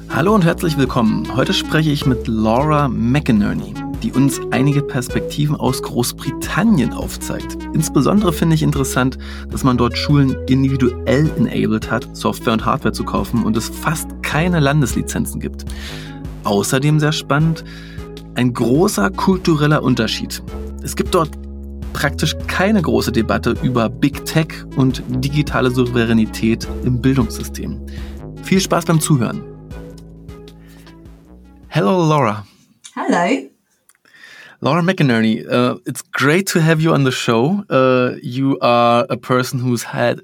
Hallo und herzlich willkommen. Heute spreche ich mit Laura McInerney, die uns einige Perspektiven aus Großbritannien aufzeigt. Insbesondere finde ich interessant, dass man dort Schulen individuell enabled hat, Software und Hardware zu kaufen und es fast keine Landeslizenzen gibt. Außerdem sehr spannend, ein großer kultureller Unterschied. Es gibt dort praktisch keine große Debatte über Big Tech und digitale Souveränität im Bildungssystem. Viel Spaß beim Zuhören. Hello, Laura. Hello. Laura McInerney, it's great to have you on the show. You are a person who's had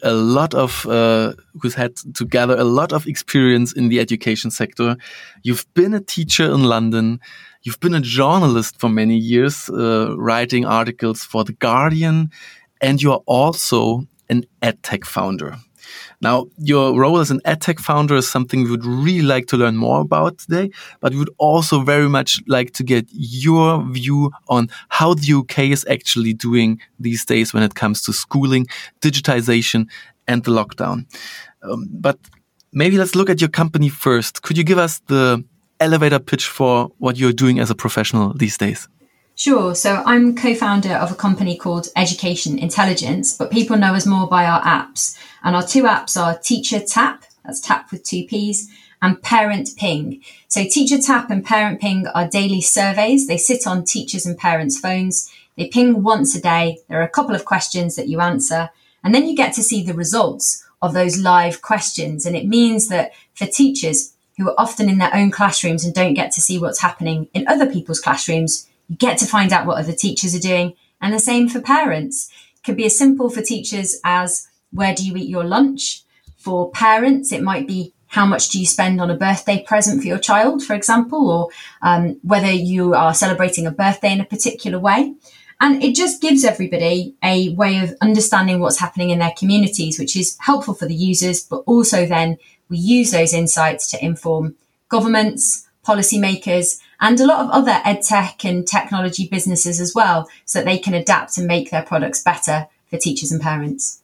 to gather a lot of experience in the education sector. You've been a teacher in London. You've been a journalist for many years, writing articles for The Guardian, and you're also an EdTech founder. Now, your role as an EdTech founder is something we would really like to learn more about today, but we would also very much like to get your view on how the UK is actually doing these days when it comes to schooling, digitization, and the lockdown. But maybe let's look at your company first. Could you give us the elevator pitch for what you're doing as a professional these days? Sure. So I'm co-founder of a company called Education Intelligence, but people know us more by our apps. And our two apps are Teacher Tap, that's tap with two P's, and Parent Ping. So Teacher Tap and Parent Ping are daily surveys. They sit on teachers' and parents' phones. They ping once a day. There are a couple of questions that you answer, and then you get to see the results of those live questions. And it means that for teachers who are often in their own classrooms and don't get to see what's happening in other people's classrooms, you get to find out what other teachers are doing. And the same for parents. It could be as simple for teachers as where do you eat your lunch? For parents, it might be how much do you spend on a birthday present for your child, for example, or whether you are celebrating a birthday in a particular way. And it just gives everybody a way of understanding what's happening in their communities, which is helpful for the users, but also then we use those insights to inform governments, policymakers, and a lot of other edtech and technology businesses as well, so that they can adapt and make their products better for teachers and parents.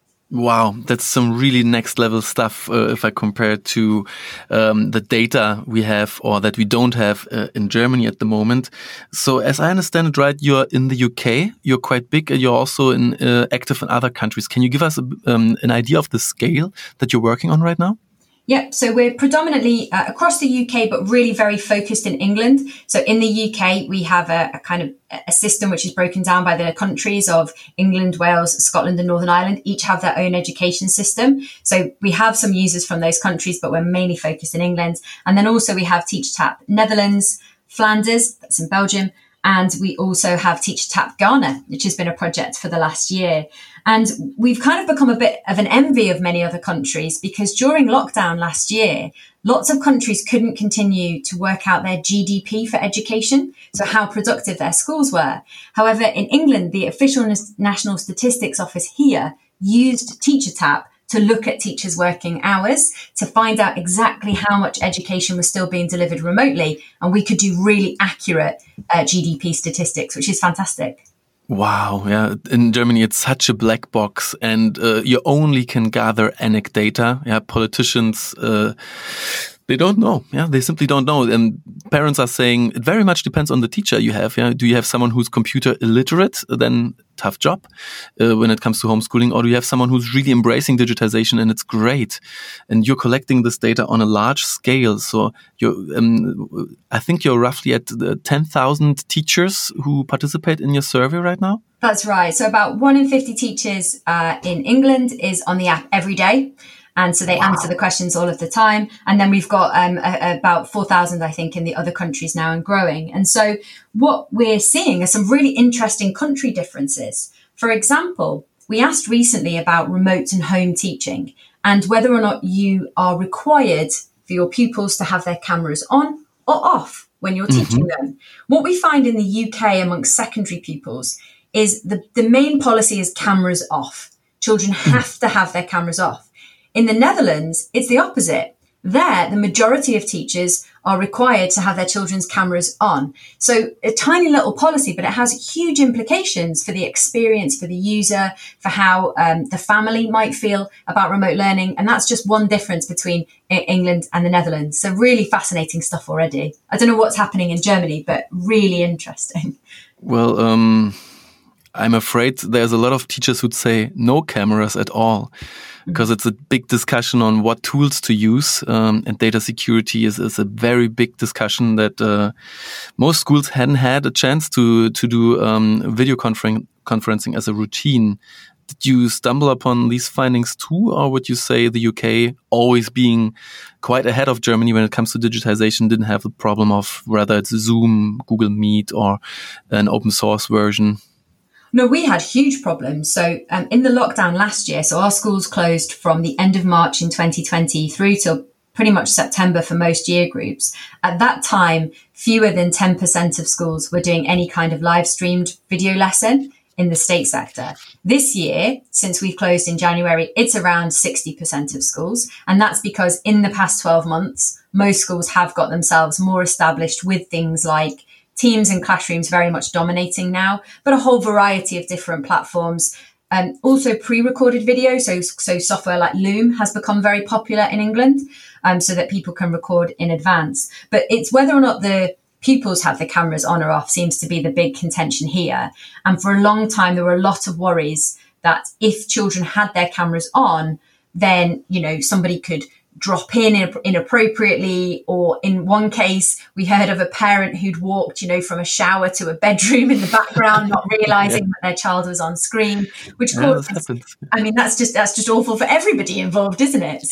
Wow, that's some really next level stuff if I compare it to the data we have or that we don't have in Germany at the moment. So as I understand it right, you're in the UK, you're quite big, and you're also active in other countries. Can you give us an idea of the scale that you're working on right now? Yep. So we're predominantly across the UK, but really very focused in England. So in the UK, we have a kind of a system which is broken down by the countries of England, Wales, Scotland and Northern Ireland. Each have their own education system. So we have some users from those countries, but we're mainly focused in England. And then also we have TeacherTap Netherlands, Flanders, that's in Belgium. And we also have TeacherTap Ghana, which has been a project for the last year. And we've kind of become a bit of an envy of many other countries because during lockdown last year, lots of countries couldn't continue to work out their GDP for education, so how productive their schools were. However, in England, the official National Statistics Office here used TeacherTap to look at teachers' working hours to find out exactly how much education was still being delivered remotely. And we could do really accurate GDP statistics, which is fantastic. Wow, yeah. In Germany, it's such a black box, and you only can gather anecdata. Yeah, politicians, they don't know. Yeah, they simply don't know. And parents are saying it very much depends on the teacher you have. Yeah, do you have someone who's computer illiterate? Then tough job when it comes to homeschooling, or do you have someone who's really embracing digitization and it's great? And you're collecting this data on a large scale. So I think you're roughly at 10,000 teachers who participate in your survey right now. That's right. So about 1 in 50 teachers in England is on the app every day. And so they answer the questions all of the time. And then we've got about 4,000, I think, in the other countries now and growing. And so what we're seeing are some really interesting country differences. For example, we asked recently about remote and home teaching and whether or not you are required for your pupils to have their cameras on or off when you're teaching them. What we find in the UK amongst secondary pupils is the main policy is cameras off. Children have to have their cameras off. In the Netherlands, it's the opposite. There, the majority of teachers are required to have their children's cameras on. So a tiny little policy, but it has huge implications for the experience, for the user, for how the family might feel about remote learning. And that's just one difference between England and the Netherlands. So really fascinating stuff already. I don't know what's happening in Germany, but really interesting. Well, I'm afraid there's a lot of teachers who'd say no cameras at all, because it's a big discussion on what tools to use. And data security is a very big discussion that most schools hadn't had a chance to do video conferencing as a routine. Did you stumble upon these findings too, or would you say the UK, always being quite ahead of Germany when it comes to digitization, didn't have the problem of whether it's Zoom, Google Meet, or an open source version? No, we had huge problems. So in the lockdown last year, so our schools closed from the end of March in 2020 through till pretty much September for most year groups. At that time, fewer than 10% of schools were doing any kind of live streamed video lesson in the state sector. This year, since we've closed in January, it's around 60% of schools. And that's because in the past 12 months, most schools have got themselves more established with things like Teams and Classrooms very much dominating now, but a whole variety of different platforms. Also pre-recorded video, so software like Loom has become very popular in England, so that people can record in advance. But it's whether or not the pupils have the cameras on or off seems to be the big contention here. And for a long time, there were a lot of worries that if children had their cameras on, then, somebody could drop in inappropriately, or in one case we heard of a parent who'd walked from a shower to a bedroom in the background, not realizing that their child was on screen, which caused that's just awful for everybody involved, isn't it?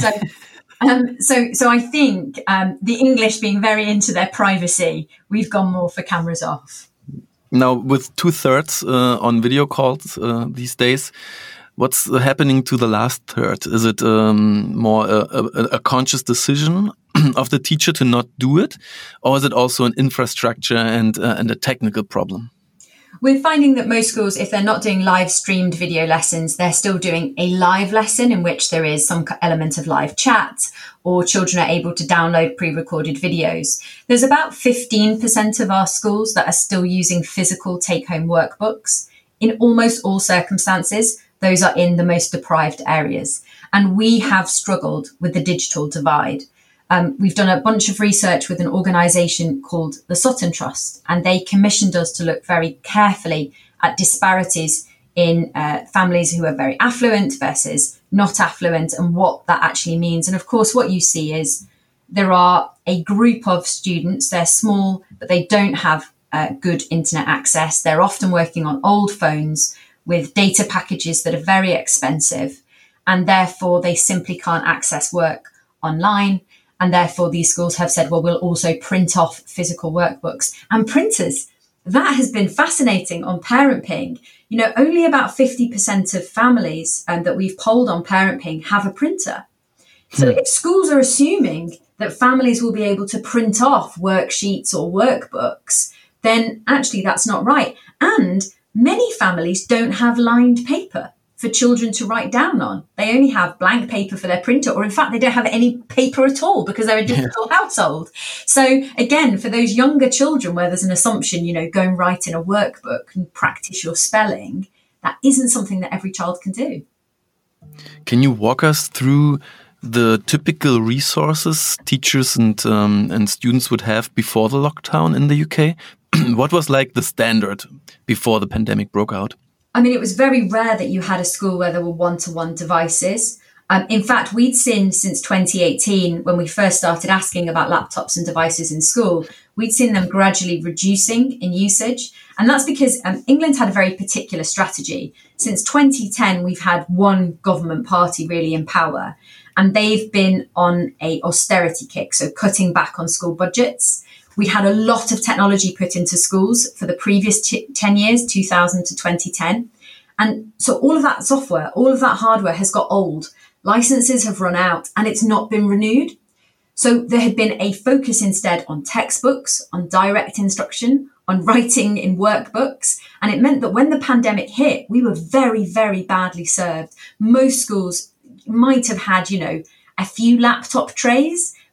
So I think the English being very into their privacy, we've gone more for cameras off. Now, with 2/3 on video calls these days, what's happening to the last third? Is it more a conscious decision of the teacher to not do it? Or is it also an infrastructure and a technical problem? We're finding that most schools, if they're not doing live streamed video lessons, they're still doing a live lesson in which there is some element of live chat, or children are able to download pre-recorded videos. There's about 15% of our schools that are still using physical take-home workbooks. In almost all circumstances, those are in the most deprived areas. And we have struggled with the digital divide. We've done a bunch of research with an organisation called the Sutton Trust, and they commissioned us to look very carefully at disparities in families who are very affluent versus not affluent, and what that actually means. And of course, what you see is there are a group of students, they're small, but they don't have good internet access. They're often working on old phones with data packages that are very expensive, and therefore they simply can't access work online. And therefore these schools have said, well, we'll also print off physical workbooks and printers. That has been fascinating on Parent Ping. Only about 50% of families that we've polled on Parent Ping have a printer. So if schools are assuming that families will be able to print off worksheets or workbooks, then actually that's not right. And many families don't have lined paper for children to write down on. They only have blank paper for their printer, or in fact, they don't have any paper at all because they're a digital household. So again, for those younger children where there's an assumption, go and write in a workbook and practice your spelling, that isn't something that every child can do. Can you walk us through the typical resources teachers and students would have before the lockdown in the UK? What was like the standard before the pandemic broke out? It was very rare that you had a school where there were one-to-one devices. In fact, we'd seen since 2018, when we first started asking about laptops and devices in school, we'd seen them gradually reducing in usage. And that's because England had a very particular strategy. Since 2010, we've had one government party really in power, and they've been on a austerity kick, so cutting back on school budgets. We had a lot of technology put into schools for the previous 10 years, 2000 to 2010. And so all of that software, all of that hardware has got old. Licenses have run out and it's not been renewed. So there had been a focus instead on textbooks, on direct instruction, on writing in workbooks. And it meant that when the pandemic hit, we were very, very badly served. Most schools might have had, a few laptop trays,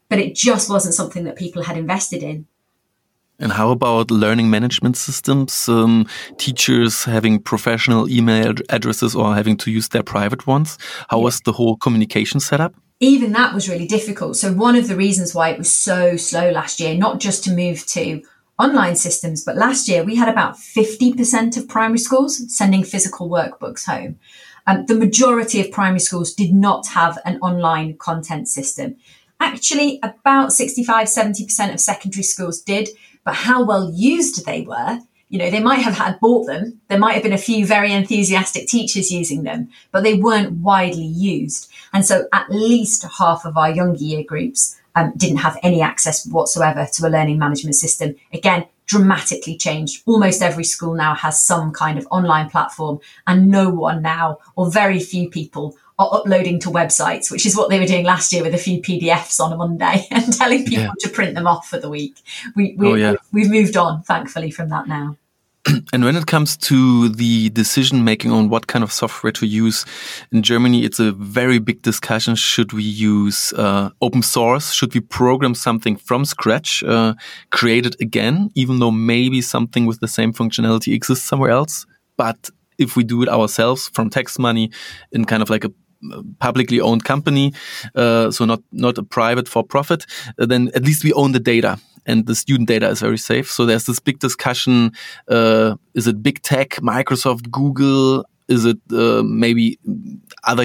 but it just wasn't something that people had invested in. And how about learning management systems? Teachers having professional email addresses or having to use their private ones? How was the whole communication setup? Even that was really difficult. So one of the reasons why it was so slow last year, not just to move to online systems, but last year we had about 50% of primary schools sending physical workbooks home. The majority of primary schools did not have an online content system. Actually, about 65, 70% of secondary schools did, but how well used they were, they might have bought them. There might have been a few very enthusiastic teachers using them, but they weren't widely used. And so at least half of our younger year groups didn't have any access whatsoever to a learning management system. Again, dramatically changed. Almost every school now has some kind of online platform, and no one now, or very few people, are uploading to websites, which is what they were doing last year with a few PDFs on a Monday and telling people to print them off for the week. We've moved on, thankfully, from that now. And when it comes to the decision making on what kind of software to use in Germany, it's a very big discussion. Should we use open source? Should we program something from scratch, create it again, even though maybe something with the same functionality exists somewhere else? But if we do it ourselves from tax money in kind of like a publicly owned company, so not a private for profit, then at least we own the data. And the student data is very safe. So there's this big discussion. Is it big tech, Microsoft, Google? Is it maybe other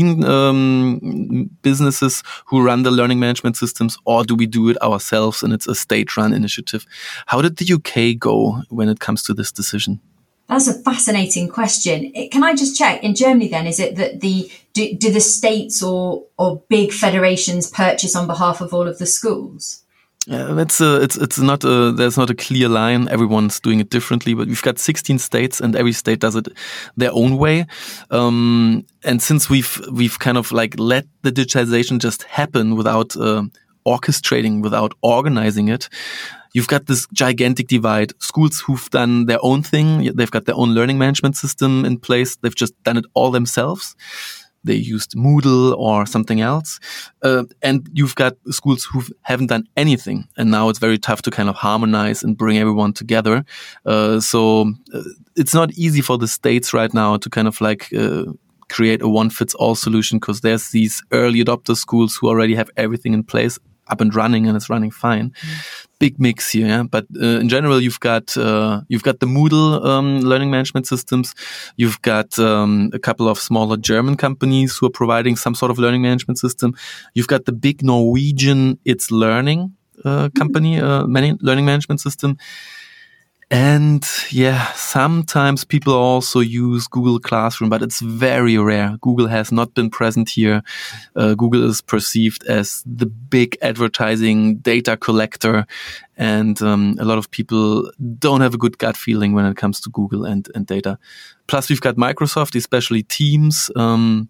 European businesses who run the learning management systems? Or do we do it ourselves and it's a state-run initiative? How did the UK go when it comes to this decision? That's a fascinating question. Can I just check, in Germany then, is it that do the states or big federations purchase on behalf of all of the schools? It's not there's not a clear line. Everyone's doing it differently, but we've got 16 states and every state does it their own way. And since we've kind of like let the digitization just happen without orchestrating, without organizing it, you've got this gigantic divide. Schools who've done their own thing, they've got their own learning management system in place. They've just done it all themselves. They used Moodle or something else. And you've got schools who haven't done anything. And now it's very tough to kind of harmonize and bring everyone together. So it's not easy for the states right now to kind of like create a one-fits-all solution, because there's these early adopter schools who already have everything in place, up and running, and it's running fine. Big mix here, yeah? But in general, you've got the Moodle learning management systems. You've got a couple of smaller German companies who are providing some sort of learning management system. You've got the big Norwegian It's Learning company, learning management system. And yeah, sometimes people also use Google Classroom, but it's very rare. Google has not been present here. Google is perceived as the big advertising data collector. And a lot of people don't have a good gut feeling when it comes to Google and data. Plus, we've got Microsoft, especially Teams. And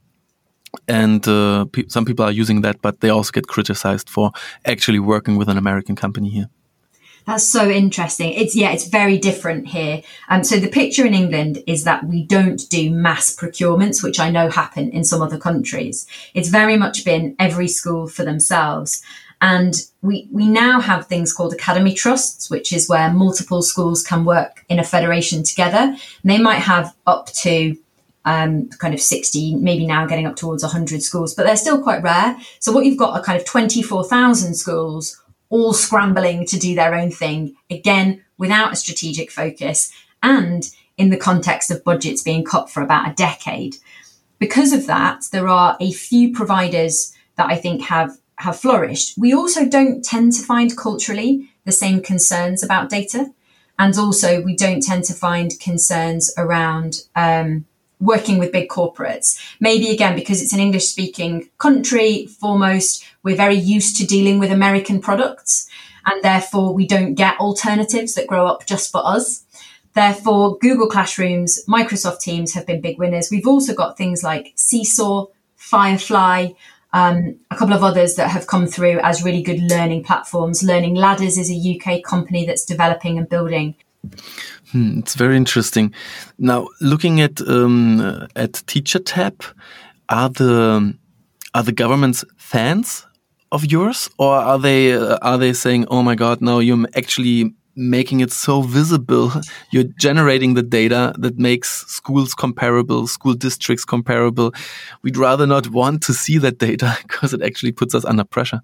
some people are using that, but they also get criticized for actually working with an American company here. That's so interesting. It's very different here. So the picture in England is that we don't do mass procurements, which I know happen in some other countries. It's very much been every school for themselves. And we now have things called academy trusts, which is where multiple schools can work in a federation together. And they might have up to kind of 60, maybe now getting up towards 100 schools, but they're still quite rare. So what you've got are kind of 24,000 schools all scrambling to do their own thing, again, without a strategic focus and in the context of budgets being cut for about a decade. Because of that, there are a few providers that I think have flourished. We also don't tend to find culturally the same concerns about data. And also we don't tend to find concerns around working with big corporates. Maybe again, because it's an English-speaking country, foremost, we're very used to dealing with American products, and therefore we don't get alternatives that grow up just for us. Therefore, Google Classrooms, Microsoft Teams have been big winners. We've also got things like Seesaw, Firefly, a couple of others that have come through as really good learning platforms. Learning Ladders is a UK company that's developing and building. It's very interesting. Now, looking at TeacherTapp, are the governments fans of yours, or are they saying, "Oh my God, now you're actually making it so visible. You're generating the data that makes schools comparable, school districts comparable. We'd rather not want to see that data because it actually puts us under pressure."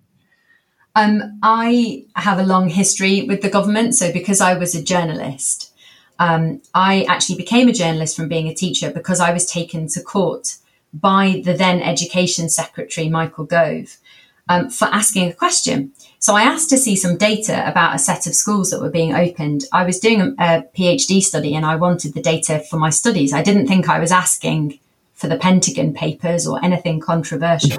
I have a long history with the government. So because I was a journalist, I actually became a journalist from being a teacher because I was taken to court by the then Education Secretary, Michael Gove, for asking a question. So I asked to see some data about a set of schools that were being opened. I was doing a PhD study and I wanted the data for my studies. I didn't think I was asking for the Pentagon Papers or anything controversial.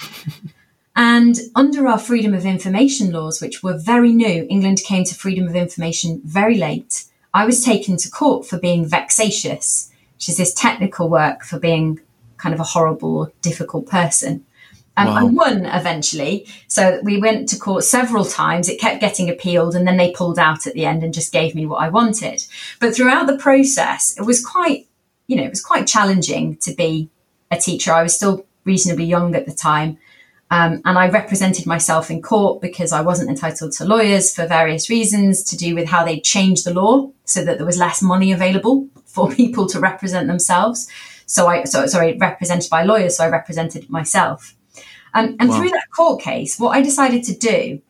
And under our freedom of information laws, which were very new, England came to freedom of information very late. I was taken to court for being vexatious, which is this technical work for being kind of a horrible or difficult person. Wow. I won eventually. So we went to court several times. It kept getting appealed and then they pulled out at the end and just gave me what I wanted. But throughout the process, it was quite challenging to be a teacher. I was still reasonably young at the time. And I represented myself in court because I wasn't entitled to lawyers for various reasons to do with how they changed the law so that there was less money available for people to represent themselves. Represented by lawyers. So I represented myself. And wow. Through that court case, what I decided to do,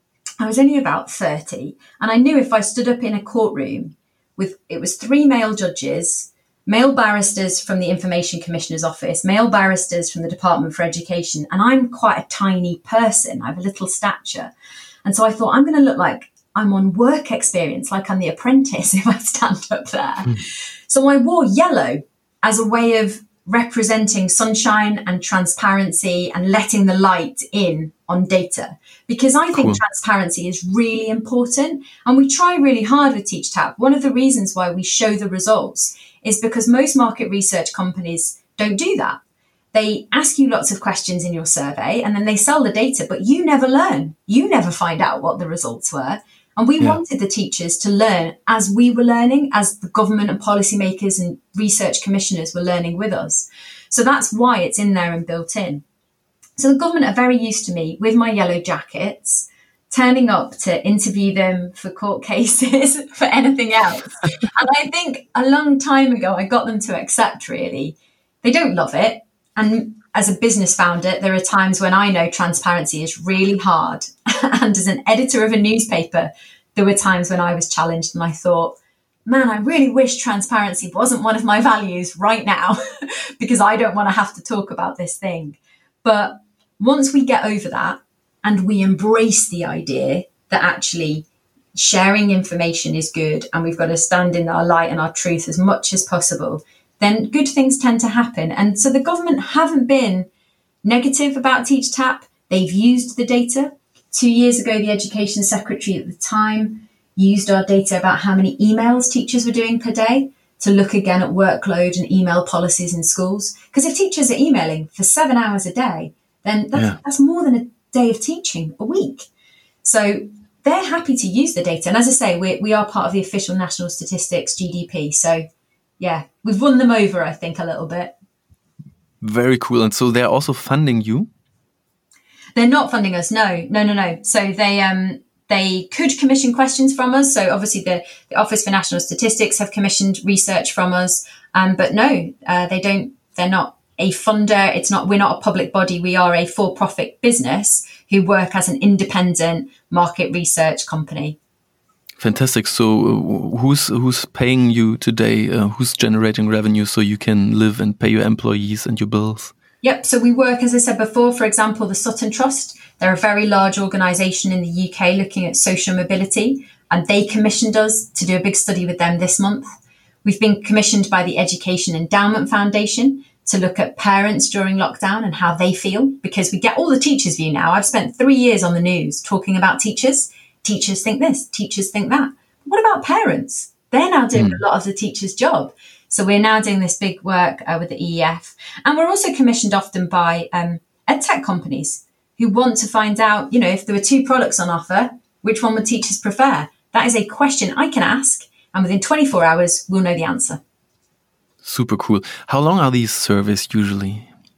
I was only about 30, and I knew if I stood up in a courtroom it was 3 male judges, male barristers from the Information Commissioner's Office, male barristers from the Department for Education, and I'm quite a tiny person. I have a little stature. And so I thought, I'm going to look like I'm on work experience, like I'm The Apprentice if I stand up there. So I wore yellow as a way of representing sunshine and transparency and letting the light in on data, because I think transparency is really important. And we try really hard with TeachTap. One of the reasons why we show the results is because most market research companies don't do that. They ask you lots of questions in your survey and then they sell the data, but you never learn. You never find out what the results were. And we wanted the teachers to learn as we were learning, as the government and policymakers and research commissioners were learning with us. So that's why it's in there and built in. So the government are very used to me with my yellow jackets, turning up to interview them for court cases, for anything else. And I think a long time ago, I got them to accept, really. They don't love it. And as a business founder, there are times when I know transparency is really hard. And as an editor of a newspaper, there were times when I was challenged and I thought, man, I really wish transparency wasn't one of my values right now because I don't want to have to talk about this thing. But once we get over that and we embrace the idea that actually sharing information is good and we've got to stand in our light and our truth as much as possible, then good things tend to happen. And so the government haven't been negative about TeachTap. They've used the data. 2 years ago, the Education Secretary at the time used our data about how many emails teachers were doing per day to look again at workload and email policies in schools. Because if teachers are emailing for 7 hours a day, then that's more than a day of teaching a week. So they're happy to use the data. And as I say, we are part of the official national statistics, GDP. So yeah, we've won them over, I think, a little bit. Very cool. And so they're also funding you? They're not funding us. No. So they could commission questions from us. So obviously the Office for National Statistics have commissioned research from us. But no, they don't. They're not a funder. We're not a public body. We are a for-profit business who work as an independent market research company. Fantastic. So who's paying you today? Who's generating revenue so you can live and pay your employees and your bills? Yep. So we work, as I said before, for example, the Sutton Trust. They're a very large organisation in the UK looking at social mobility, and they commissioned us to do a big study with them this month. We've been commissioned by the Education Endowment Foundation to look at parents during lockdown and how they feel, because we get all the teachers' view now. I've spent 3 years on the news talking about teachers. Teachers think this, teachers think that. What about parents? They're now doing a lot of the teacher's job. So we're now doing this big work with the EEF. And we're also commissioned often by edtech companies who want to find out, if there were 2 products on offer, which one would teachers prefer? That is a question I can ask. And within 24 hours, we'll know the answer. Super cool. How long are these surveys usually?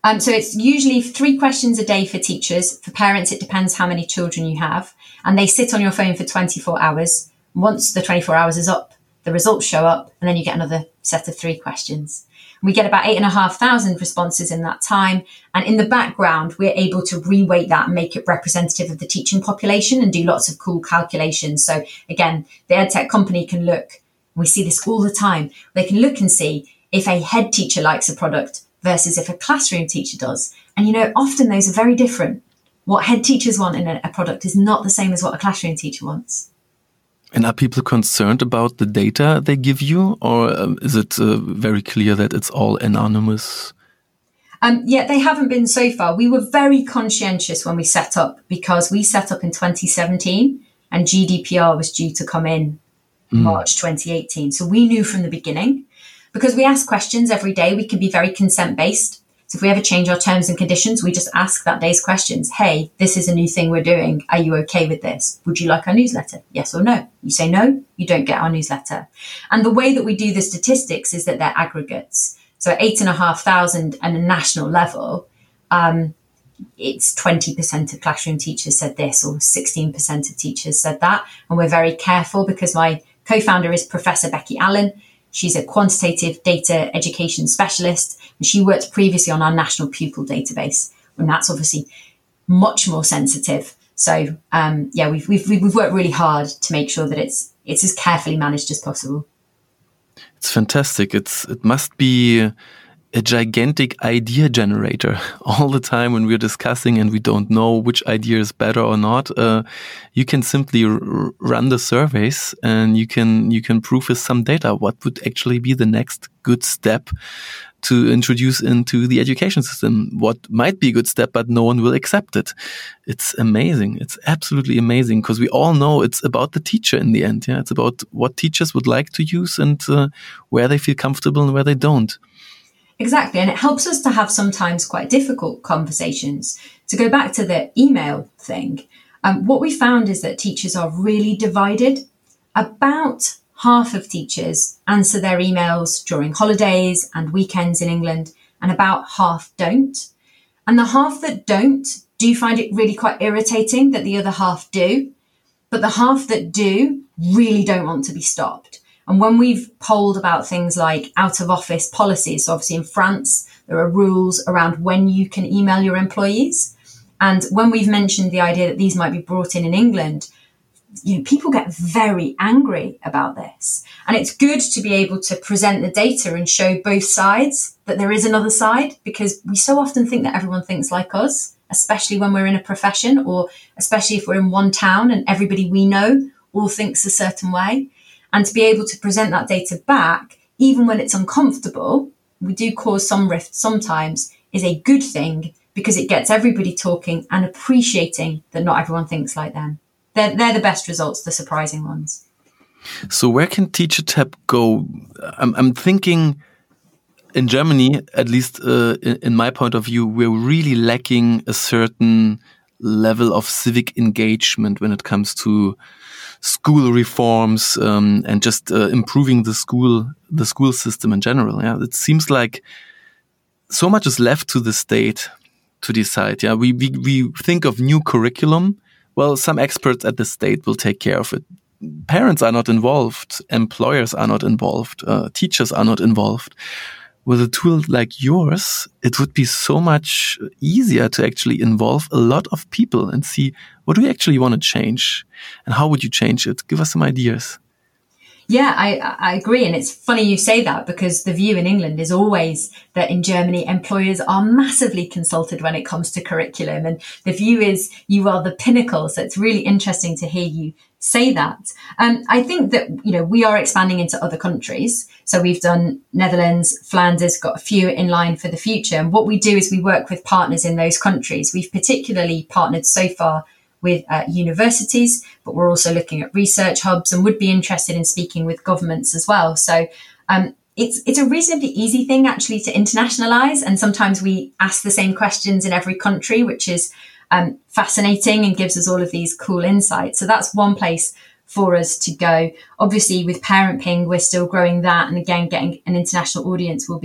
So it's usually 3 questions a day for teachers. For parents, it depends how many children you have. And they sit on your phone for 24 hours. Once the 24 hours is up, the results show up, and then you get another set of 3 questions. We get about 8,500 responses in that time. And in the background, we're able to reweight that and make it representative of the teaching population and do lots of cool calculations. So again, the EdTech company can look, we see this all the time. They can look and see if a head teacher likes a product versus if a classroom teacher does. And, you know, often those are very different. What head teachers want in a product is not the same as what a classroom teacher wants. And are people concerned about the data they give you, or is it very clear that it's all anonymous? Yeah, they haven't been so far. We were very conscientious when we set up, because we set up in 2017 and GDPR was due to come in March 2018. So we knew from the beginning, because we ask questions every day, we can be very consent-based. So if we ever change our terms and conditions, we just ask that day's questions. Hey, this is a new thing we're doing. Are you okay with this? Would you like our newsletter? Yes or no? You say no, you don't get our newsletter. And the way that we do the statistics is that they're aggregates. So 8,500 at a national level, it's 20% of classroom teachers said this, or 16% of teachers said that. And we're very careful, because my co-founder is Professor Becky Allen. She's a quantitative data education specialist, and she worked previously on our national pupil database, and that's obviously much more sensitive. So, yeah, we've worked really hard to make sure that it's as carefully managed as possible. It's fantastic. It must be a gigantic idea generator all the time when we're discussing and we don't know which idea is better or not. You can simply run the surveys and you can prove with some data what would actually be the next good step to introduce into the education system. What might be a good step, but no one will accept it. It's amazing. It's absolutely amazing, because we all know it's about the teacher in the end. Yeah, it's about what teachers would like to use and where they feel comfortable and where they don't. Exactly. And it helps us to have sometimes quite difficult conversations. To go back to the email thing, what we found is that teachers are really divided. About half of teachers answer their emails during holidays and weekends in England, and about half don't. And the half that don't do find it really quite irritating that the other half do. But the half that do really don't want to be stopped. And when we've polled about things like out of office policies, so obviously in France, there are rules around when you can email your employees. And when we've mentioned the idea that these might be brought in England, you know, people get very angry about this. And it's good to be able to present the data and show both sides, that there is another side, because we so often think that everyone thinks like us, especially when we're in a profession, or especially if we're in one town and everybody we know all thinks a certain way. And to be able to present that data back, even when it's uncomfortable, we do cause some rift sometimes, is a good thing, because it gets everybody talking and appreciating that not everyone thinks like them. They're the best results, the surprising ones. So where can TeacherTapp go? I'm thinking in Germany, at least in my point of view, we're really lacking a certain level of civic engagement when it comes to school reforms and just improving the school system in general. Yeah, it seems like so much is left to the state to decide. Yeah, we think of new curriculum. Well, some experts at the state will take care of it. Parents are not involved. Employers are not involved. Teachers are not involved. With a tool like yours, it would be so much easier to actually involve a lot of people and see what do we actually want to change and how would you change it? Give us some ideas. Yeah, I agree. And it's funny you say that, because the view in England is always that in Germany, employers are massively consulted when it comes to curriculum. And the view is you are the pinnacle. So it's really interesting to hear you say that. I think that, you know, we are expanding into other countries. So we've done Netherlands, Flanders, got a few in line for the future. And what we do is we work with partners in those countries. We've particularly partnered so far with universities, but we're also looking at research hubs and would be interested in speaking with governments as well. So it's a reasonably easy thing actually to internationalize. And sometimes we ask the same questions in every country, which is fascinating and gives us all of these cool insights. So that's one place for us to go. Obviously with Parent Ping, we're still growing that. And again, getting an international audience will be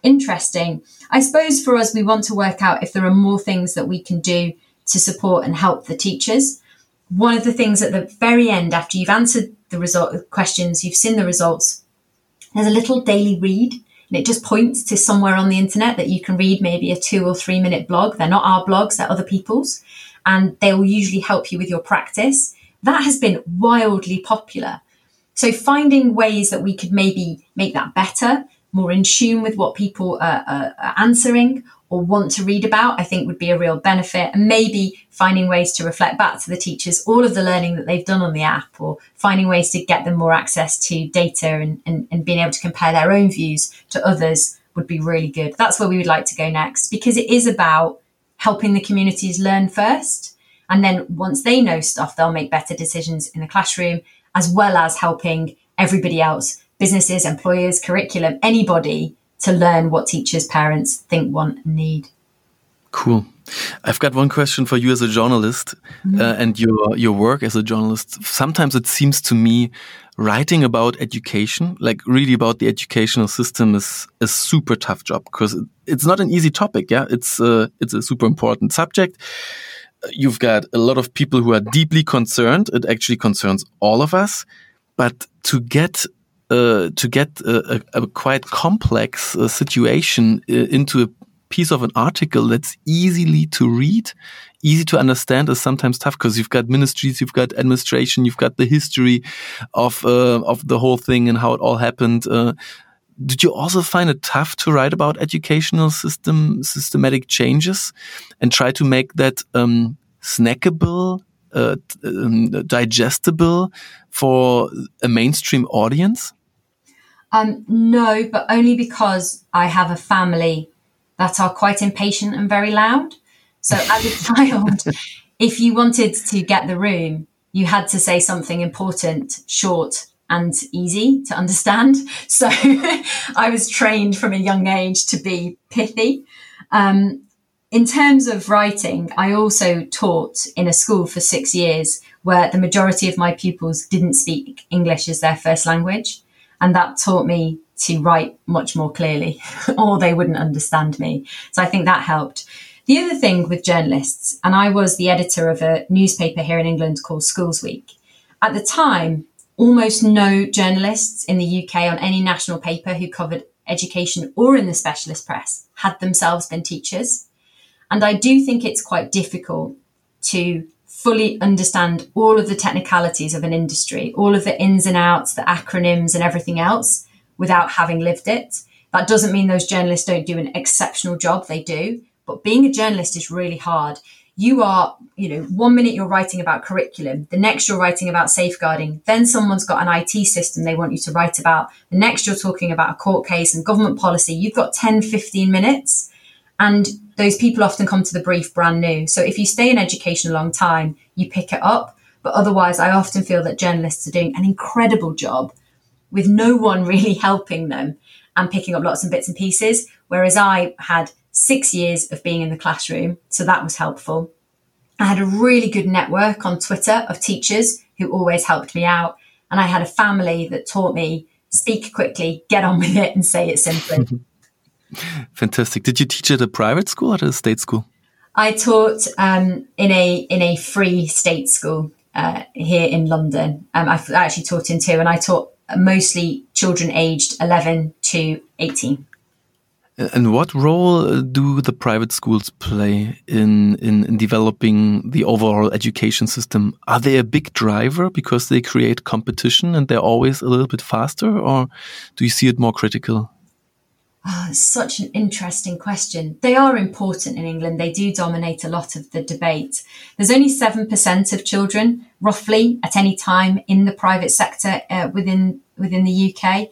interesting. I suppose for us, we want to work out if there are more things that we can do to support and help the teachers. One of the things at the very end, after you've answered the questions, you've seen the results, there's a little daily read, and it just points to somewhere on the internet that you can read maybe a 2 or 3 minute blog. They're not our blogs, they're other people's, and they will usually help you with your practice. That has been wildly popular. So finding ways that we could maybe make that better, more in tune with what people are answering or want to read about, I think would be a real benefit. And maybe finding ways to reflect back to the teachers all of the learning that they've done on the app, or finding ways to get them more access to data and being able to compare their own views to others would be really good. That's where we would like to go next, because it is about helping the communities learn first. And then once they know stuff, they'll make better decisions in the classroom, as well as helping everybody else, businesses, employers, curriculum, anybody, to learn what teachers, parents think, want, and need. Cool. I've got one question for you as a journalist and your work as a journalist. Sometimes it seems to me writing about education, like really about the educational system, is a super tough job, because it's not an easy topic. Yeah, it's a super important subject. You've got a lot of people who are deeply concerned. It actually concerns all of us, but to get a quite complex situation into a piece of an article that's easily to read, easy to understand, is sometimes tough, because you've got ministries, you've got administration, you've got the history of the whole thing and how it all happened. Did you also find it tough to write about educational systematic changes and try to make that snackable, digestible for a mainstream audience? No, but only because I have a family that are quite impatient and very loud. So as a child, if you wanted to get the room, you had to say something important, short and easy to understand. So I was trained from a young age to be pithy. In terms of writing, I also taught in a school for 6 years where the majority of my pupils didn't speak English as their first language. And that taught me to write much more clearly, or they wouldn't understand me. So I think that helped. The other thing with journalists, and I was the editor of a newspaper here in England called Schools Week. At the time, almost no journalists in the UK on any national paper who covered education or in the specialist press had themselves been teachers. And I do think it's quite difficult to fully understand all of the technicalities of an industry, all of the ins and outs, the acronyms and everything else without having lived it. That doesn't mean those journalists don't do an exceptional job. They do. But being a journalist is really hard. You are, 1 minute you're writing about curriculum, the next you're writing about safeguarding, then someone's got an IT system they want you to write about, the next you're talking about a court case and government policy. You've got 10, 15 minutes. And those people often come to the brief brand new. So if you stay in education a long time, you pick it up. But otherwise, I often feel that journalists are doing an incredible job with no one really helping them and picking up lots of bits and pieces. Whereas I had 6 years of being in the classroom, so that was helpful. I had a really good network on Twitter of teachers who always helped me out. And I had a family that taught me, speak quickly, get on with it and say it simply. Fantastic. Did you teach at a private school or at a state school? I taught in a free state school here in London. I actually taught in 2, and I taught mostly children aged 11 to 18. And what role do the private schools play in developing the overall education system? Are they a big driver because they create competition and they're always a little bit faster, or do you see it more critical? Oh, it's such an interesting question. They are important in England. They do dominate a lot of the debate. There's only 7% of children, roughly, at any time in the private sector within the UK,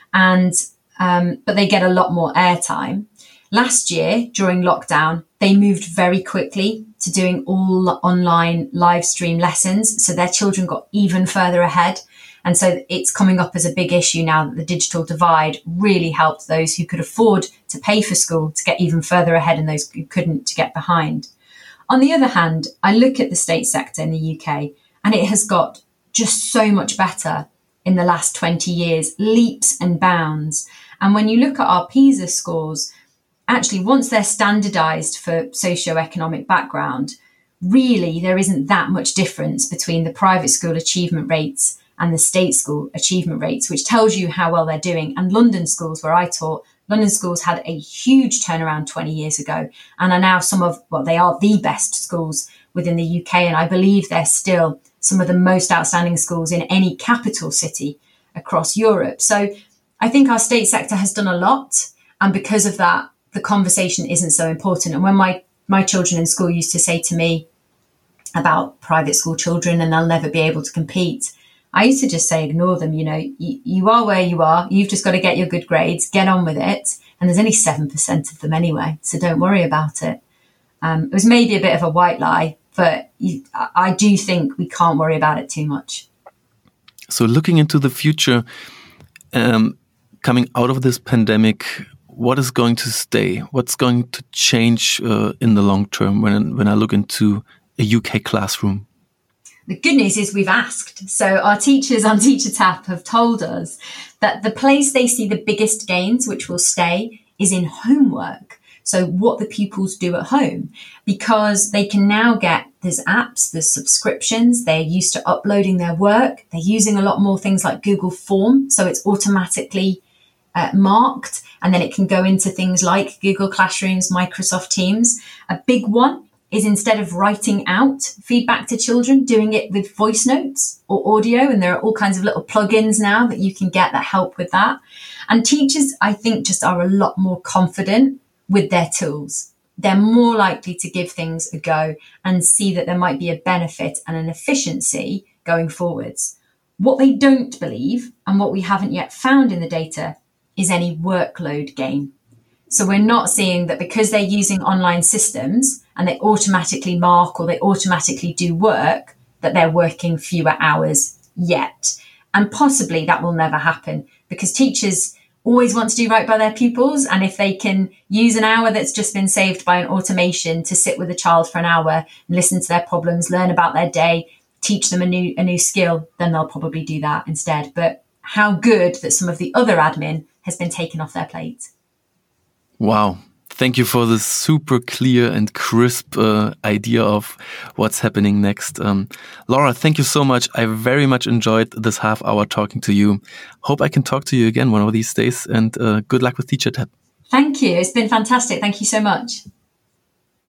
but they get a lot more airtime. Last year, during lockdown, they moved very quickly to doing all online live stream lessons, so their children got even further ahead. And so it's coming up as a big issue now that the digital divide really helped those who could afford to pay for school to get even further ahead and those who couldn't to get behind. On the other hand, I look at the state sector in the UK and it has got just so much better in the last 20 years, leaps and bounds. And when you look at our PISA scores, actually, once they're standardized for socioeconomic background, really there isn't that much difference between the private school achievement rates and the state school achievement rates, which tells you how well they're doing. And London schools, where I taught, London schools had a huge turnaround 20 years ago and are now they are the best schools within the UK. And I believe they're still some of the most outstanding schools in any capital city across Europe. So I think our state sector has done a lot. And because of that, the conversation isn't so important. And when my children in school used to say to me about private school children and they'll never be able to compete, I used to just say, ignore them. You are where you are. You've just got to get your good grades, get on with it. And there's only 7% of them anyway. So don't worry about it. It was maybe a bit of a white lie, but I do think we can't worry about it too much. So looking into the future, coming out of this pandemic, what is going to stay? What's going to change in the long term when I look into a UK classroom? The good news is we've asked. So our teachers on Teacher Tapp have told us that the place they see the biggest gains, which will stay, is in homework. So what the pupils do at home, because they can now there's apps, there's subscriptions, they're used to uploading their work. They're using a lot more things like Google Form. So it's automatically marked, and then it can go into things like Google Classrooms, Microsoft Teams. A big one is, instead of writing out feedback to children, doing it with voice notes or audio. And there are all kinds of little plugins now that you can get that help with that. And teachers, I think, just are a lot more confident with their tools. They're more likely to give things a go and see that there might be a benefit and an efficiency going forwards. What they don't believe, and what we haven't yet found in the data, is any workload gain. So we're not seeing that because they're using online systems and they automatically mark or they automatically do work, that they're working fewer hours yet. And possibly that will never happen, because teachers always want to do right by their pupils. And if they can use an hour that's just been saved by an automation to sit with a child for an hour and listen to their problems, learn about their day, teach them a new skill, then they'll probably do that instead. But how good that some of the other admin has been taken off their plate. Wow. Thank you for this super clear and crisp idea of what's happening next. Laura, thank you so much. I very much enjoyed this half hour talking to you. Hope I can talk to you again one of these days, and good luck with Teacher Tapp. Thank you. It's been fantastic. Thank you so much.